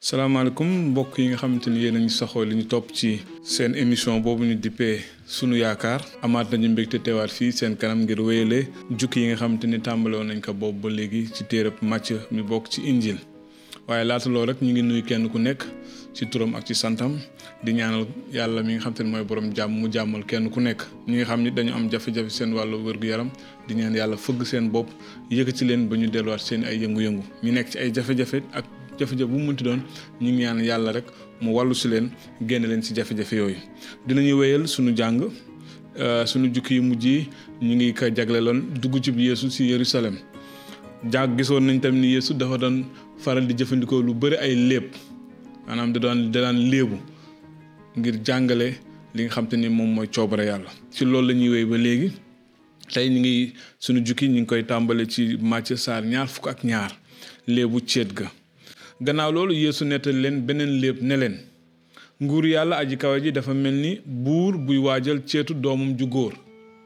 salaamaaleykum mbokk yi nga xamante ni yéen a ngi saxoo li ñu topp ci seen émission boobu ñu dippee sunu yaakaar amaat nañu mbégte teewaat fii seen kanam ngir wéyale jukki yi nga xamante ni tàmbale woon nañ ko boobu ba léegi ci téereb Màcc mi bokk ci injil waaye laata loolu rek ñu ngi nuyu kenn ku nekk ci turam ak ci santam di ñaanal yàlla mi nga xamante ni mooy borom jàmm mu jàmmal kenn ku nekk ñi nga xam ni dañu am jafe-jafe seen wàllu wér-gu-yaram di ñaan yàlla fëgg seen bopp yëkkati leen ba ñu delluwaat seen ay yëngu-yëngu ñu nekk ci ay jafe-jafe ak jafe-jafe bu mu mënti doon ñu ngi ñaan yàlla rek mu wàllu si leen génne leen si jafe-jafe yooyu dinañuy wéyal suñu jàng suñu jukki yu mujj yi ñu ngi ko jagleeloon dugg ci Yeesu si Yerusalem jàng gisoon nañ tamit ni Yeesu dafa doon faral di jëfandikoo lu bëri ay léeb maanaam da daan léebu ngir jàngale li nga xam te ni moom mooy coobare yàlla ci loolu la ñuy wéy ba léegi tey ñu ngi suñu jukki ñu ngi koy tàmbale ci Màcc saar 22 léebu céet ga gannaaw loolu Yeesu nettali leen beneen léeb ne leen nguur yàlla aji kawe ji dafa mel ni buur buy waajal ceetu doomam ju góor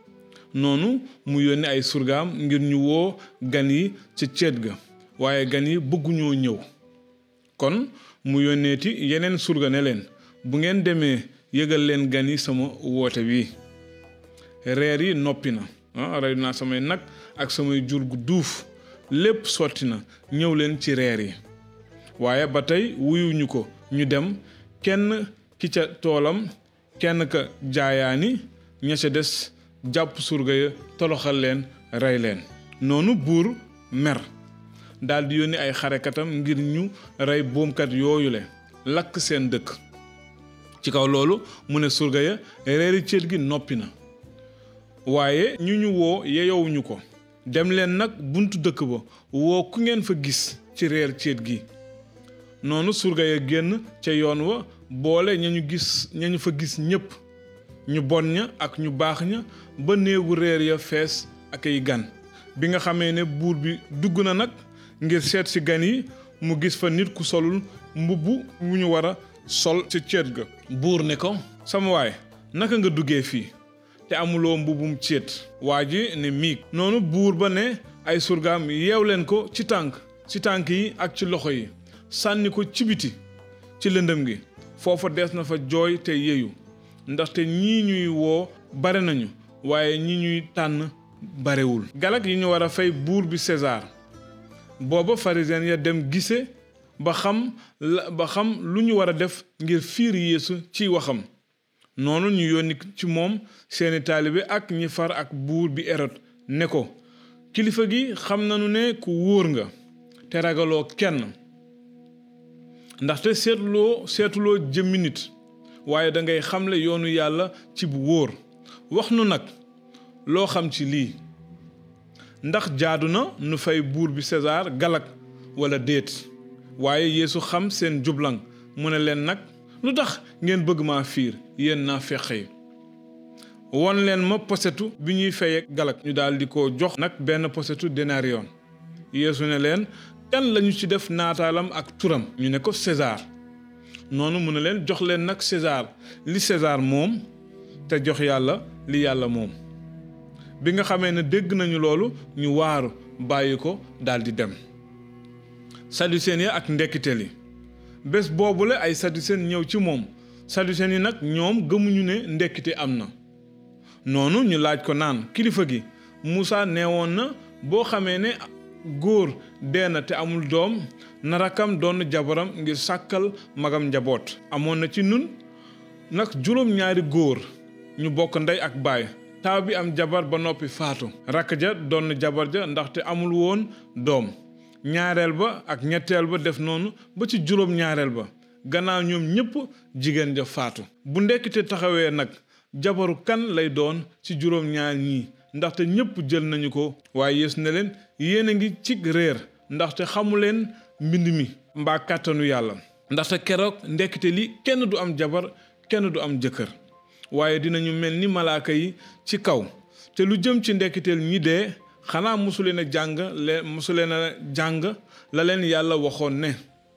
noonu mu yónni ay surgaam ngir ñu woo gan yi ca ceet ga waaye gan yi bëgguñoo ñëw kon mu yónneeti yeneen surga ne leen bu ngeen demee yëgal leen gan yi sama woote wi reer yi noppi na rey naa samay nag ak samay jur gu duuf lépp sotti na ñëw leen ci reer yi waaye ba tey wuyuñu ko ñu dem kenn ki ca toolam kenn ka jaayaani ña ca des jàpp surga ya toloxal leen rey leen noonu buur mer daldi yónni ay xarekatam ngir ñu rey boomkat yooyule lakk seen dëkk ci kaw loolu mu ne surga ya reeri céet gi noppi na waaye ñu woo yeyowuñu ko dem leen nag buntu dëkk ba woo ku ngeen fa gis ci reer céet gi noonu surga ya génn ca yoon wa boole ñañu fa gis ñépp ñu bon ña ak ñu baax ña ba néegu reer ya fees ak ay gan bi nga xamee ne buur bi dugg na nag ngir seet ci gan yi mu gis fa nit ku solul mbubb wu ñu war a sol ci céet ga buur ne ko sama waay naka nga duggee fii te amuloo mbubbum céet waa ji ne miig noonu buur ba ne ay surgaam yeew leen ko ci tànk yi ak ci loxo yi sànni ko ci biti ci lëndëm gi foofa des na fa jooy te yeyu ndaxte ñii ñuy woo bare nañu waaye ñi ñuy tànn barewul galak yi ñu war a fay buur bi César booba pharisien ya dem gise ba xam lu ñu war a def ngir fiir Yeesu ci waxam noonu ñu yónni ci moom seeni taalibe ak ñi far ak buur bi Hérode ne ko kilifa gi xam nañu ne ku wóor nga te ragaloo kenn ndaxte seetuloo jëmmi nit waaye dangay xamle yoonu yàlla ci bu wóor wax nu nag loo xam ci lii ndax jaadu na nu fay buur bi César galak wala déet waaye Yeesu xam seen jublang mu ne leen nag lu tax ngeen bëgg maa fiir yéen naa fexe won leen ma posetu bi ñuy fayee galak ñu daal di ko jox nag benn posetu denariyon Yeesu ne leen kan lañu ci def naataalam ak turam ñu ne ko César noonu mu ne leen jox leen nag César li César moom te jox yàlla li yàlla moom bi nga xamee ne dégg nañu loolu ñu waaru bàyyi ko daldi dem saducéen ya ak ndekkiteel yi bés boobule ay saducéen ñëw ci moom saducéen yi nag ñoom gëmuñu ne ndekkite am na noonu ñu laaj ko naan kilifa gi Muusaa neewoon na boo xamee ne góor dee na te amul doom na rakkam doon jabaram ngir sàkkal magam njaboot amoon na ci nun nag 7 góor ñu bokk ndey ak baay taaw bi am jabar ba noppi faatu rakk ja doon jabar ja ndaxte amul woon doom ñaareel ba ak ñetteel ba def noonu ba ci 7 ba gannaaw ñoom ñépp jigéen ja faatu bu ndekkite taxawee nag jabaru kan lay doon ci 7 ñii ndaxte ñépp jël nañu ko waaye Yeesu ne leen yéen a ngi ci réer ndaxte xamuleen mbind mi mbaa kàttanu yàlla ndaxte keroog ndekkite li kenn du am jabar kenn du am jëkkër waaye dinañu mel ni malaaka yi ci kaw te lu jëm ci ndekkiteel ñi dee xanaa mosuleen a jàng la leen yàlla waxoon ne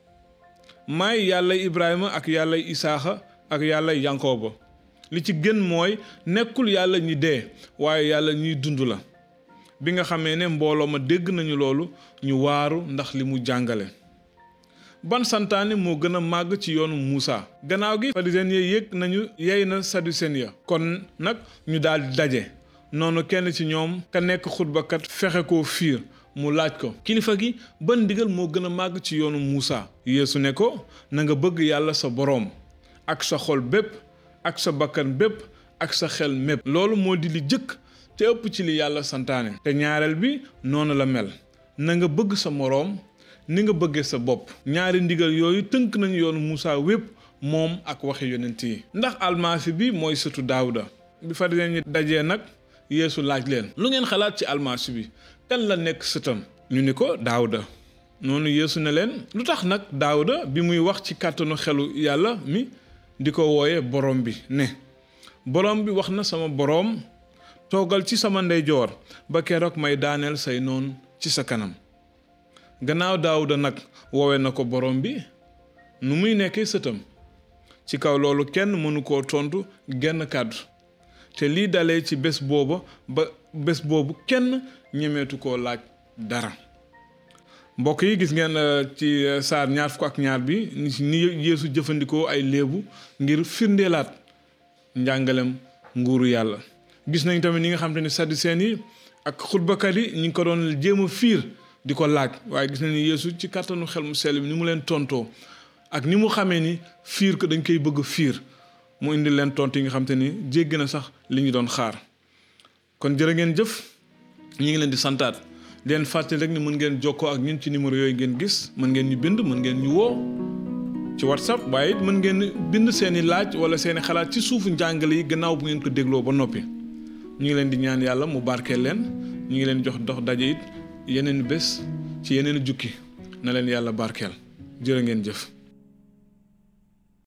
maay yàlla Ibrahima ak yàlla Isaaxa ak yàlla Yankooba li ci gën mooy nekkul yàlla ñi dee waaye yàlla ñiy dund la bi nga xamee ne mbooloo ma dégg nañu loolu ñu waaru ndax li mu jàngale ban santaane moo gën a màgg ci yoonu Muusa. gannaaw gi pharisien yi yëg nañu yey na saducéen ya kon nag ñu daal di daje noonu kenn ci ñoom ka nekk xutbakat fexe koo fiir mu laaj ko kilifa gi ban ndigal moo gën a màgg ci yoonu Muusa. Yeesu ne ko na nga bëgg yàlla sa boroom ak sa xol bépp ak sa bakkan bépp ak sa xel mépp loolu moo di li jëkk te ëpp ci li yàlla santaane te ñaareel bi noonu la mel na nga bëgg sa moroom ni nga bëggee sa bopp. ñaari ndigal yooyu tënk nañu yoonu Muusa wépp moom ak waxi yonent yi. ndax almasi bi mooy sëtu Daawuda. bi farisiyen ñi dajee nag Yeesu laaj leen lu ngeen xalaat ci almasi bi kan la nekk sëtam. ñu ni ko Daawuda. noonu Yeesu ne leen lu tax nag Daawuda bi muy wax ci kàttanu xelu yàlla mi di ko wooye borom bi ne borom bi wax na sama boroom toogal ci sama ndeyjoor ba keroog may daaneel say noon ci sa kanam. gannaaw Daawuda nag woowe na ko borom bi nu muy nekkee sëtam. ci kaw loolu kenn mënu koo tontu genn kàddu te lii dalee ci bés boobu kenn ñemeetu koo laaj dara. mbokk yi gis ngeen ci saar 22 bi ni Yeesu jëfandikoo ay léebu ngir firndeelaat njàngalem nguuru yàlla. gis nañ tamit ñi nga xam te ne saducéen yi ak xutbakat yi ñu ngi ko doon jéem a fiir di ko laaj waaye gis nañ ni Yeesu ci kàttanu xel mu sell bi ni mu leen tontoo ak ni mu xamee ni fiir ko dañ koy bëgg fiir mu indi leen tontu yi nga xam te ni jéggi na sax li ñu doon xaar. kon jërë ngeen jëf ñi ngi leen di santaat leen fàttali rek ni mën ngeen jokkoo ak ñun ci numéro yooyu ngeen gis mën ngeen ñu bind mën ngeen ñu woo ci WhatsApp waaye it mën ngeen bind seeni laaj wala seeni xalaat ci suufu njàngale yi gannaaw bu ngeen ko dégloo ba noppi. ñu ngi leen di ñaan yàlla mu barkeel leen ñu ngi leen jox dox daje it yeneen bés ci yeneen jukki na leen yàlla barkeel jërë ngeen jëf.